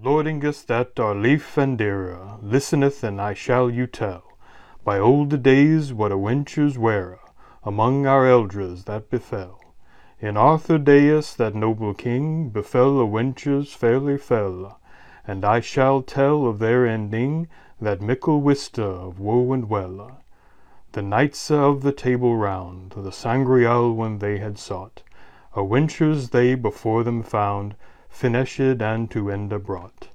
Lordingus that are leaf and dearer, listeneth and I shall you tell, by olde days what a wenchers were, among our eldres that befell. In Arthur Deus that noble king, befell a wenchers fairly fell, and I shall tell of their ending, that mickle wiste of woe and well. The knights of the Table Round, the Sangreal when they had sought, a wenchers they before them found, finished and to ende brought.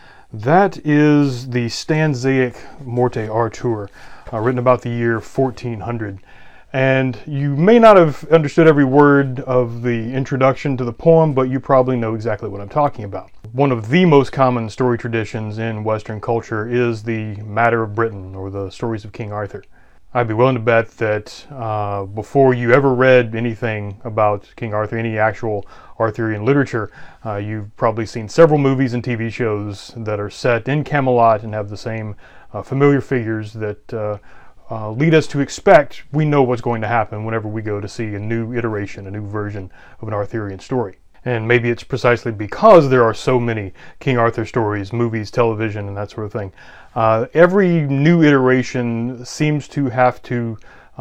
That is the stanzaic Morte Artur, written about the year 1400. And you may not have understood every word of the introduction to the poem, but you probably know exactly what I'm talking about. One of the most common story traditions in Western culture is the Matter of Britain, or the stories of King Arthur. I'd be willing to bet that before you ever read anything about King Arthur, any actual Arthurian literature, you've probably seen several movies and TV shows that are set in Camelot and have the same familiar figures that lead us to expect we know what's going to happen whenever we go to see a new iteration, a new version of an Arthurian story. And maybe it's precisely because there are so many King Arthur stories, movies, television, and that sort of thing. Every new iteration seems to have to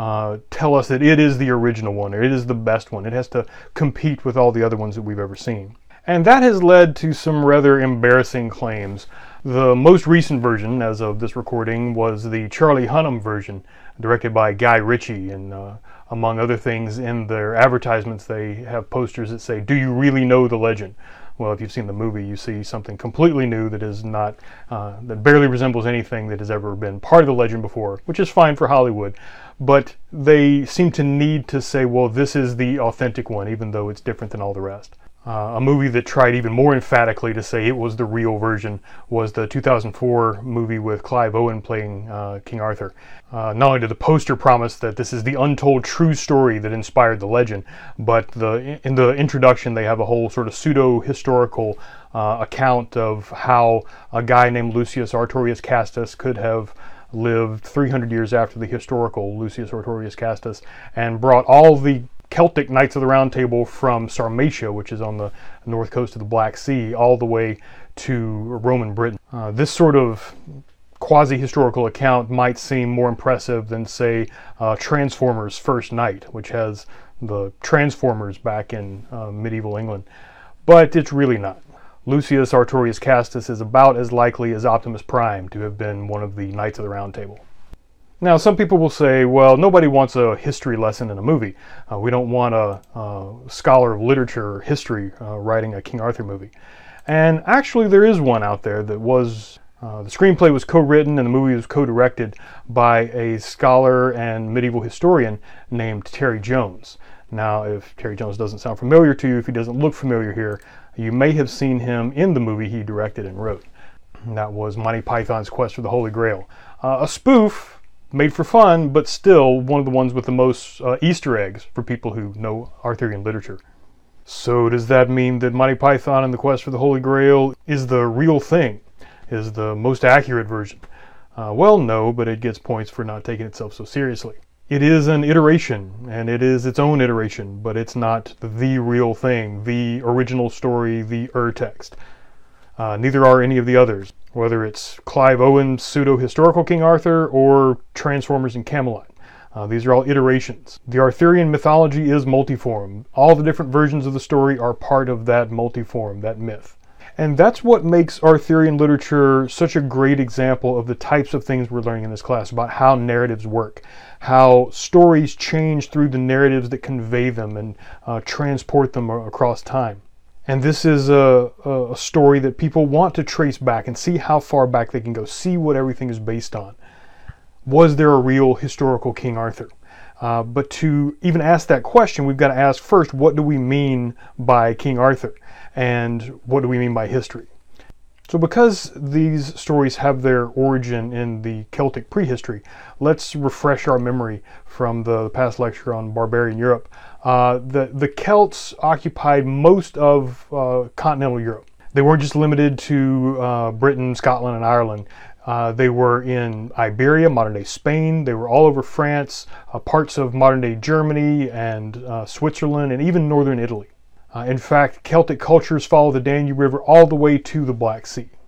tell us that it is the original one, or it is the best one. It has to compete with all the other ones that we've ever seen. And that has led to some rather embarrassing claims. The most recent version, as of this recording, was the Charlie Hunnam version, directed by Guy Ritchie, and among other things, in their advertisements they have posters that say, "Do you really know the legend?" Well, if you've seen the movie, you see something completely new that is not, that barely resembles anything that has ever been part of the legend before, which is fine for Hollywood. But they seem to need to say, well, this is the authentic one, even though it's different than all the rest. A movie that tried even more emphatically to say it was the real version was the 2004 movie with Clive Owen playing King Arthur. Not only did the poster promise that this is the untold true story that inspired the legend, but in the introduction they have a whole sort of pseudo-historical account of how a guy named Lucius Artorius Castus could have lived 300 years after the historical Lucius Artorius Castus and brought all the Celtic Knights of the Round Table from Sarmatia, which is on the north coast of the Black Sea, all the way to Roman Britain. This sort of quasi-historical account might seem more impressive than, say, Transformers First Knight, which has the Transformers back in medieval England. But it's really not. Lucius Artorius Castus is about as likely as Optimus Prime to have been one of the Knights of the Round Table. Now, some people will say, well, nobody wants a history lesson in a movie. We don't want a scholar of literature or history writing a King Arthur movie. And actually, there is one out there that was, the screenplay was co-written and the movie was co-directed by a scholar and medieval historian named Terry Jones. Now, if Terry Jones doesn't sound familiar to you, if he doesn't look familiar here, you may have seen him in the movie he directed and wrote. And that was Monty Python's Quest for the Holy Grail. A spoof, made for fun, but still one of the ones with the most Easter eggs for people who know Arthurian literature. So does that mean that Monty Python and the Quest for the Holy Grail is the real thing, is the most accurate version? Well, no, but it gets points for not taking itself so seriously. It is an iteration, and it is its own iteration, but it's not the real thing, the original story, the ur-text. Neither are any of the others, whether it's Clive Owen's pseudo-historical King Arthur or Transformers and Camelot. These are all iterations. The Arthurian mythology is multiform. All the different versions of the story are part of that multiform, that myth. And that's what makes Arthurian literature such a great example of the types of things we're learning in this class, about how narratives work, how stories change through the narratives that convey them and transport them across time. And this is a story that people want to trace back and see how far back they can go, see what everything is based on. Was there a real historical King Arthur? But to even ask that question, we've got to ask first, what do we mean by King Arthur? And what do we mean by history? So because these stories have their origin in the Celtic prehistory, let's refresh our memory from the past lecture on barbarian Europe. The Celts occupied most of continental Europe. They weren't just limited to Britain, Scotland, and Ireland. They were in Iberia, modern-day Spain. They were all over France, parts of modern-day Germany and Switzerland, and even northern Italy. In fact, Celtic cultures follow the Danube River all the way to the Black Sea.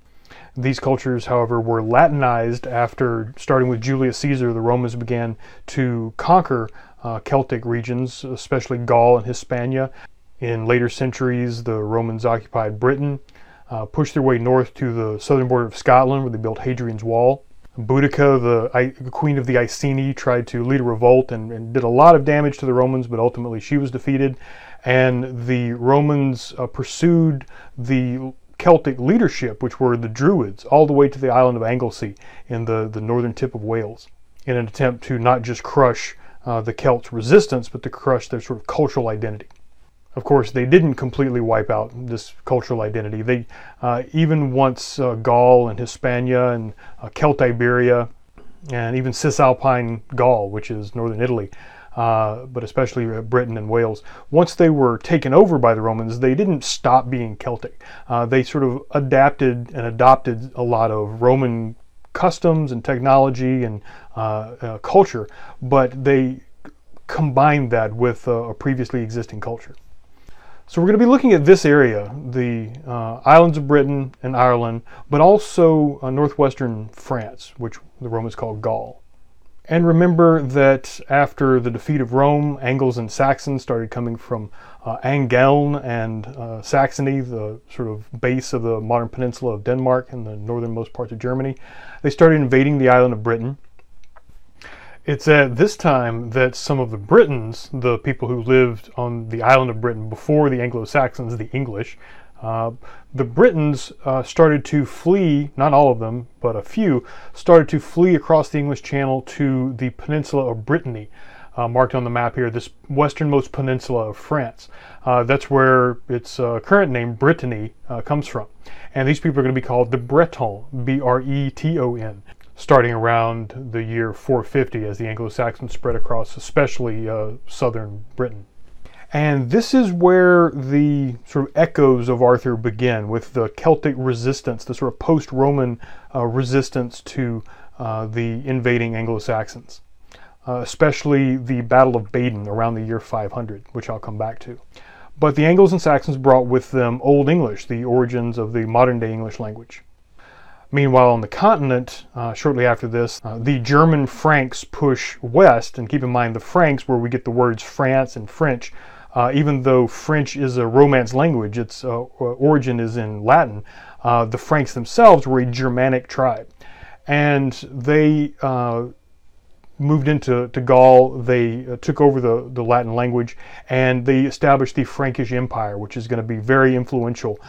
These cultures, however, were Latinized after, starting with Julius Caesar, the Romans began to conquer Celtic regions, especially Gaul and Hispania. In later centuries, the Romans occupied Britain, pushed their way north to the southern border of Scotland, where they built Hadrian's Wall. Boudica, the queen of the Iceni, tried to lead a revolt and did a lot of damage to the Romans, but ultimately she was defeated. And the Romans pursued the Celtic leadership, which were the Druids, all the way to the island of Anglesey in the northern tip of Wales, in an attempt to not just crush the Celts' resistance, but to crush their sort of cultural identity. Of course, they didn't completely wipe out this cultural identity. They, even once Gaul and Hispania and Celtiberia and even Cisalpine Gaul, which is northern Italy, but especially Britain and Wales, once they were taken over by the Romans, they didn't stop being Celtic. They sort of adapted and adopted a lot of Roman customs and technology and culture, but they combined that with a previously existing culture. So we're going to be looking at this area, the islands of Britain and Ireland, but also northwestern France, which the Romans called Gaul. And remember that after the defeat of Rome, Angles and Saxons started coming from Angeln and Saxony, the sort of base of the modern peninsula of Denmark and the northernmost parts of Germany. They started invading the island of Britain. It's at this time that some of the Britons, the people who lived on the island of Britain before the Anglo-Saxons, the English, the Britons started to flee, not all of them, but a few, started to flee across the English Channel to the peninsula of Brittany, marked on the map here, this westernmost peninsula of France. That's where its current name, Brittany, comes from. And these people are going to be called the Bretons, B-R-E-T-O-N. Starting around the year 450 as the Anglo-Saxons spread across, especially southern Britain. And this is where the sort of echoes of Arthur begin, with the Celtic resistance, the sort of post-Roman resistance to the invading Anglo-Saxons, especially the Battle of Badon around the year 500, which I'll come back to. But the Angles and Saxons brought with them Old English, the origins of the modern-day English language. Meanwhile, on the continent, shortly after this, the German Franks push west, and keep in mind the Franks, where we get the words France and French, even though French is a Romance language, its origin is in Latin, the Franks themselves were a Germanic tribe. And they moved into Gaul, they took over the Latin language, and they established the Frankish Empire, which is going to be very influential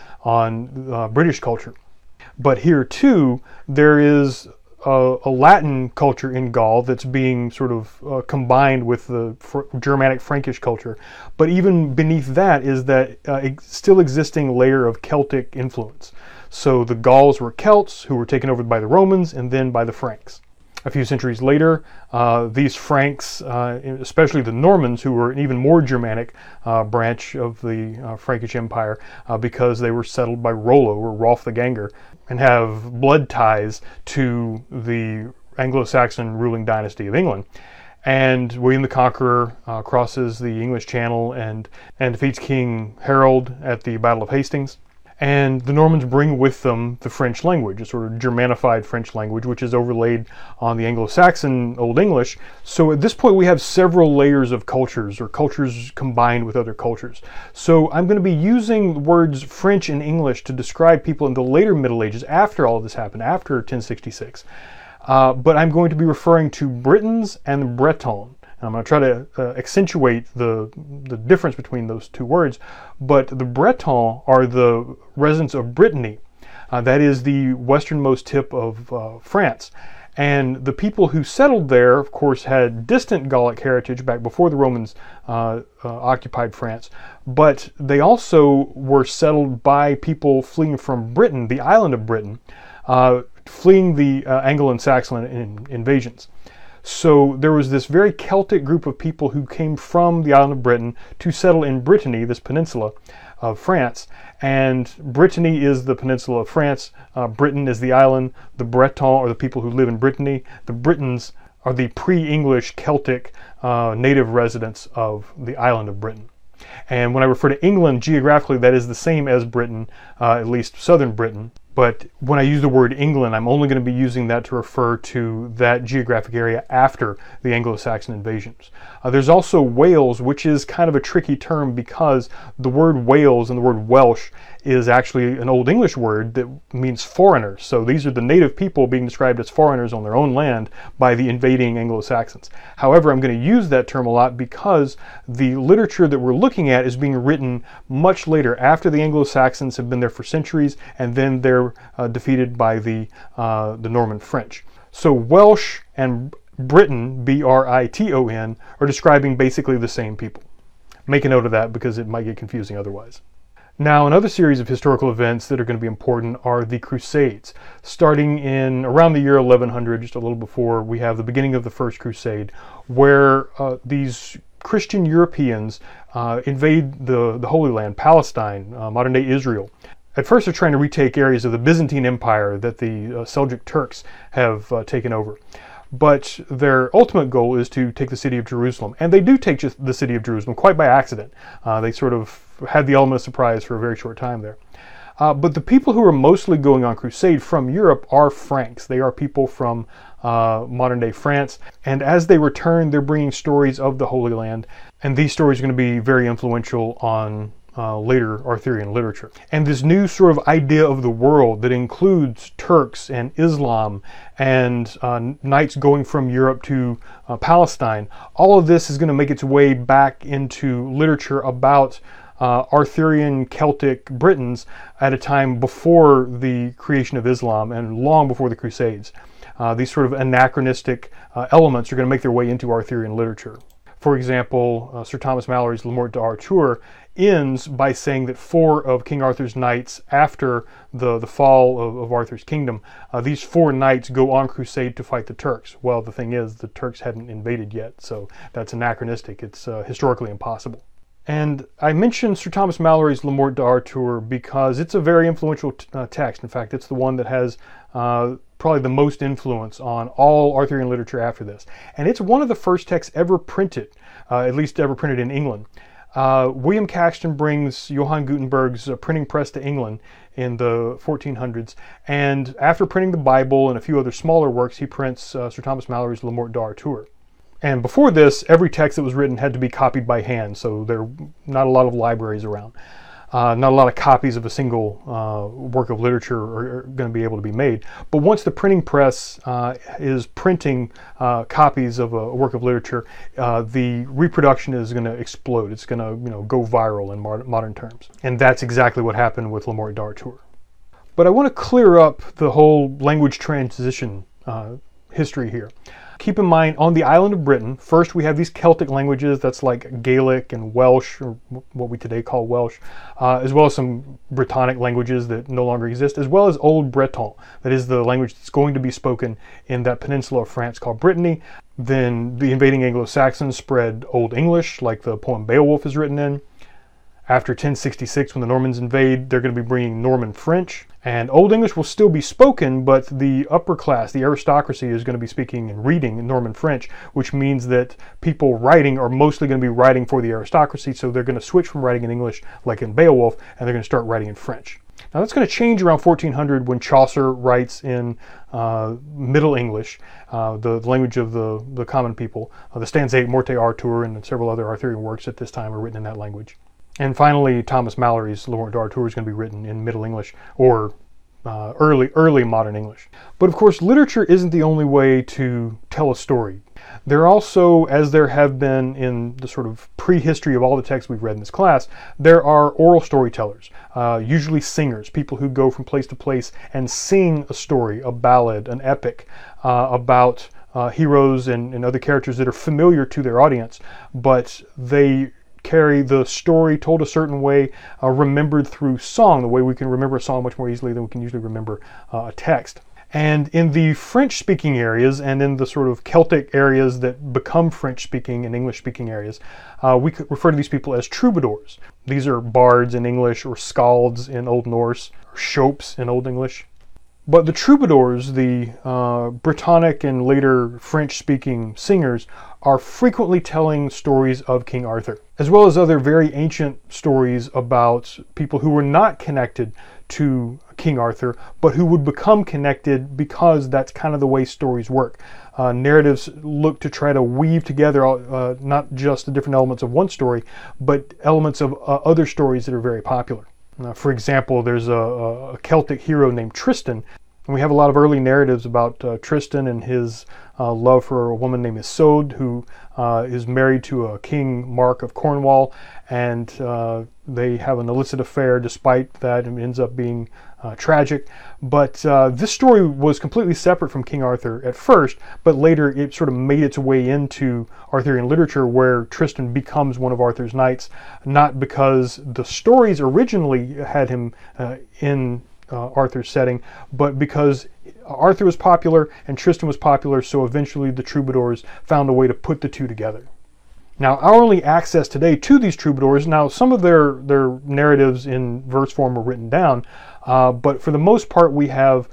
on British culture. But here too, there is a Latin culture in Gaul that's being sort of combined with the Germanic Frankish culture. But even beneath that is that still existing layer of Celtic influence. So the Gauls were Celts who were taken over by the Romans and then by the Franks. A few centuries later, these Franks, especially the Normans, who were an even more Germanic branch of the Frankish Empire, because they were settled by Rollo or Rolf the Ganger, and have blood ties to the Anglo-Saxon ruling dynasty of England. And William the Conqueror crosses the English Channel and defeats King Harold at the Battle of Hastings. And the Normans bring with them the French language, a sort of Germanified French language, which is overlaid on the Anglo-Saxon Old English. So at this point we have several layers of cultures, or cultures combined with other cultures. So I'm going to be using words French and English to describe people in the later Middle Ages, after all of this happened, after 1066. But I'm going to be referring to Britons and the Bretons. I'm going to try to accentuate the difference between those two words, but the Bretons are the residents of Brittany. That is the westernmost tip of France. And the people who settled there, of course, had distant Gallic heritage back before the Romans occupied France, but they also were settled by people fleeing from Britain, the island of Britain, fleeing the Anglo and Saxon invasions. So there was this very Celtic group of people who came from the island of Britain to settle in Brittany, this peninsula of France. And Brittany is the peninsula of France. Britain is the island. The Bretons are the people who live in Brittany. The Britons are the pre-English Celtic native residents of the island of Britain. And when I refer to England geographically, that is the same as Britain, at least southern Britain. But when I use the word England, I'm only going to be using that to refer to that geographic area after the Anglo-Saxon invasions. There's also Wales, which is kind of a tricky term because the word Wales and the word Welsh is actually an Old English word that means foreigners. So these are the native people being described as foreigners on their own land by the invading Anglo-Saxons. However, I'm going to use that term a lot because the literature that we're looking at is being written much later, after the Anglo-Saxons have been there for centuries, and then they're defeated by the Norman French. So Welsh and Briton, B-R-I-T-O-N, are describing basically the same people. Make a note of that because it might get confusing otherwise. Now, another series of historical events that are going to be important are the Crusades. Starting in around the year 1100, just a little before, we have the beginning of the First Crusade, where these Christian Europeans invade the Holy Land, Palestine, modern-day Israel. At first, they're trying to retake areas of the Byzantine Empire that the Seljuk Turks have taken over. But their ultimate goal is to take the city of Jerusalem. And they do take the city of Jerusalem quite by accident. They sort of had the element of surprise for a very short time there. But the people who are mostly going on crusade from Europe are Franks. They are people from modern-day France. And as they return, they're bringing stories of the Holy Land. And these stories are going to be very influential on later Arthurian literature. And this new sort of idea of the world that includes Turks and Islam and knights going from Europe to Palestine, all of this is going to make its way back into literature about Arthurian Celtic Britons at a time before the creation of Islam and long before the Crusades. These sort of anachronistic elements are going to make their way into Arthurian literature. For example, Sir Thomas Malory's Le Morte d'Arthur ends by saying that 4 of King Arthur's knights, after the fall of Arthur's kingdom, these 4 knights go on crusade to fight the Turks. Well, the thing is, the Turks hadn't invaded yet, so that's anachronistic. It's historically impossible. And I mentioned Sir Thomas Malory's Le Morte d'Arthur because it's a very influential text. In fact, it's the one that has probably the most influence on all Arthurian literature after this. And it's one of the first texts ever printed, at least ever printed in England. William Caxton brings Johann Gutenberg's printing press to England in the 1400s, and after printing the Bible and a few other smaller works, he prints Sir Thomas Malory's Le Morte d'Arthur. And before this, every text that was written had to be copied by hand, so there are not a lot of libraries around. Not a lot of copies of a single work of literature are going to be able to be made. But once the printing press is printing copies of a work of literature, the reproduction is going to explode. It's going to, go viral in modern terms. And that's exactly what happened with Le Morte d'Arthur. But I want to clear up the whole language transition history here. Keep in mind, on the island of Britain, first we have these Celtic languages, that's like Gaelic and Welsh, or what we today call Welsh, as well as some Brittonic languages that no longer exist, as well as Old Breton, that is the language that's going to be spoken in that peninsula of France called Brittany. Then the invading Anglo-Saxons spread Old English, like the poem Beowulf is written in. After 1066, when the Normans invade, they're going to be bringing Norman French. And Old English will still be spoken, but the upper class, the aristocracy, is going to be speaking and reading in Norman French, which means that people writing are mostly going to be writing for the aristocracy, so they're going to switch from writing in English, like in Beowulf, and they're going to start writing in French. Now that's going to change around 1400 when Chaucer writes in Middle English, the language of the common people. The Stanzate Morte Arthur and several other Arthurian works at this time are written in that language. And finally, Thomas Malory's Le Morte d'Arthur is going to be written in Middle English, or early modern English. But of course, literature isn't the only way to tell a story. There are also, as there have been in the sort of prehistory of all the texts we've read in this class, there are oral storytellers, usually singers, people who go from place to place and sing a story, a ballad, an epic, about heroes and other characters that are familiar to their audience, but they carry the story told a certain way, remembered through song, the way we can remember a song much more easily than we can usually remember a text. And in the French-speaking areas and in the sort of Celtic areas that become French-speaking and English-speaking areas, we could refer to these people as troubadours. These are bards in English, or skalds in Old Norse, or shopes in Old English. But the troubadours, the Brittonic and later French-speaking singers, are frequently telling stories of King Arthur, as well as other very ancient stories about people who were not connected to King Arthur, but who would become connected because that's kind of the way stories work. Narratives look to try to weave together not just the different elements of one story, but elements of other stories that are very popular. For example, there's a Celtic hero named Tristan, and we have a lot of early narratives about Tristan and his love for a woman named Isoude, who is married to a King Mark of Cornwall, and they have an illicit affair. Despite that, it ends up being tragic. But this story was completely separate from King Arthur at first, but later it sort of made its way into Arthurian literature, where Tristan becomes one of Arthur's knights, not because the stories originally had him in Arthur's setting, but because Arthur was popular and Tristan was popular, so eventually the troubadours found a way to put the two together. Now, our only access today to these troubadours, now some of their narratives in verse form are written down, but for the most part we have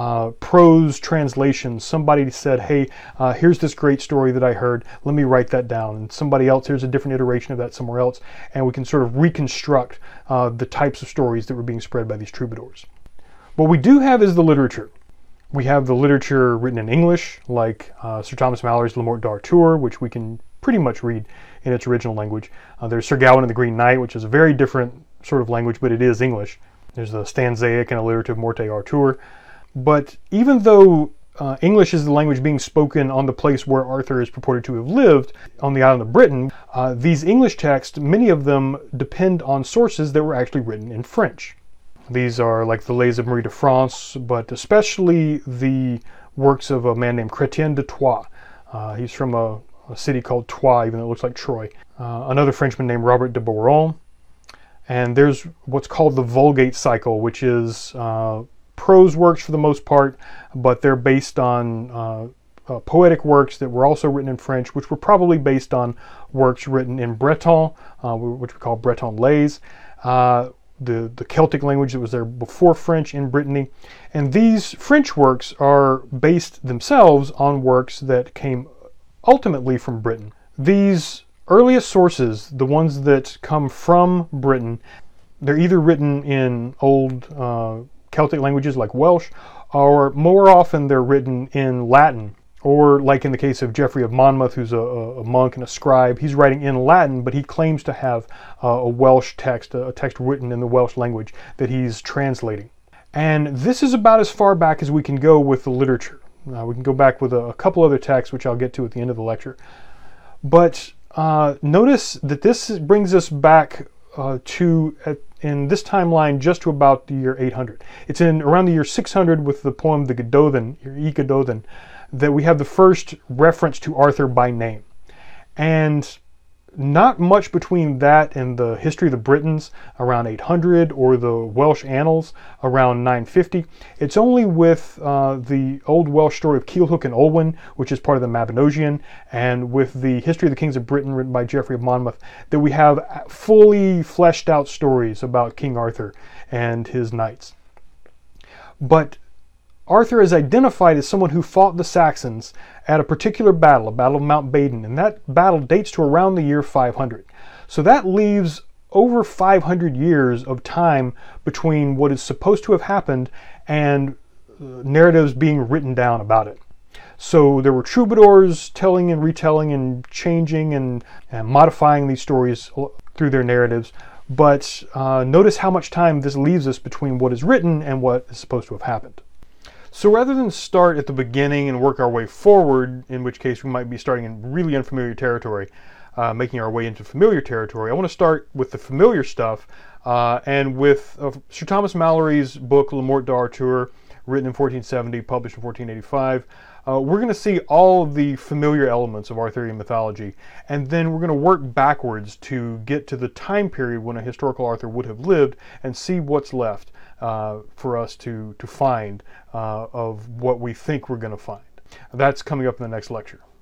prose translations. Somebody said, hey, here's this great story that I heard, let me write that down. And somebody else, here's a different iteration of that somewhere else, and we can sort of reconstruct the types of stories that were being spread by these troubadours. What we do have is the literature. We have the literature written in English, like Sir Thomas Malory's Le Morte d'Arthur, which we can pretty much read in its original language. There's Sir Gawain and the Green Knight, which is a very different sort of language, but it is English. There's the stanzaic and alliterative Morte Arthur. But even though English is the language being spoken on the place where Arthur is purported to have lived, on the island of Britain, these English texts, many of them depend on sources that were actually written in French. These are like the Lays of Marie de France, but especially the works of a man named Chrétien de Troyes. He's from a city called Troyes, even though it looks like Troy. Another Frenchman named Robert de Boron. And there's what's called the Vulgate cycle, which is prose works for the most part, but they're based on poetic works that were also written in French, which were probably based on works written in Breton, which we call Breton Lays. The Celtic language that was there before French in Brittany. And these French works are based themselves on works that came ultimately from Britain. These earliest sources, the ones that come from Britain, they're either written in old Celtic languages like Welsh, or more often they're written in Latin. Or like in the case of Geoffrey of Monmouth, who's a monk and a scribe, he's writing in Latin, but he claims to have a Welsh text, a text written in the Welsh language that he's translating. And this is about as far back as we can go with the literature. We can go back with a couple other texts, which I'll get to at the end of the lecture. But notice that this brings us back in this timeline just to about the year 800. It's in around the year 600 with the poem The Gododin, Y Gododdin, that we have the first reference to Arthur by name. And not much between that and the history of the Britons around 800 or the Welsh annals around 950. It's only with the old Welsh story of Culhwch and Olwen, which is part of the Mabinogion, and with the history of the kings of Britain written by Geoffrey of Monmouth, that we have fully fleshed out stories about King Arthur and his knights. But Arthur is identified as someone who fought the Saxons at a particular battle, a battle of Mount Badon, and that battle dates to around the year 500. So that leaves over 500 years of time between what is supposed to have happened and narratives being written down about it. So there were troubadours telling and retelling and changing and modifying these stories through their narratives, but notice how much time this leaves us between what is written and what is supposed to have happened. So rather than start at the beginning and work our way forward, in which case we might be starting in really unfamiliar territory, making our way into familiar territory, I want to start with the familiar stuff and with Sir Thomas Malory's book Le Morte d'Arthur, written in 1470, published in 1485. We're going to see all of the familiar elements of Arthurian mythology, and then we're going to work backwards to get to the time period when a historical Arthur would have lived and see what's left for us to find of what we think we're going to find. That's coming up in the next lecture.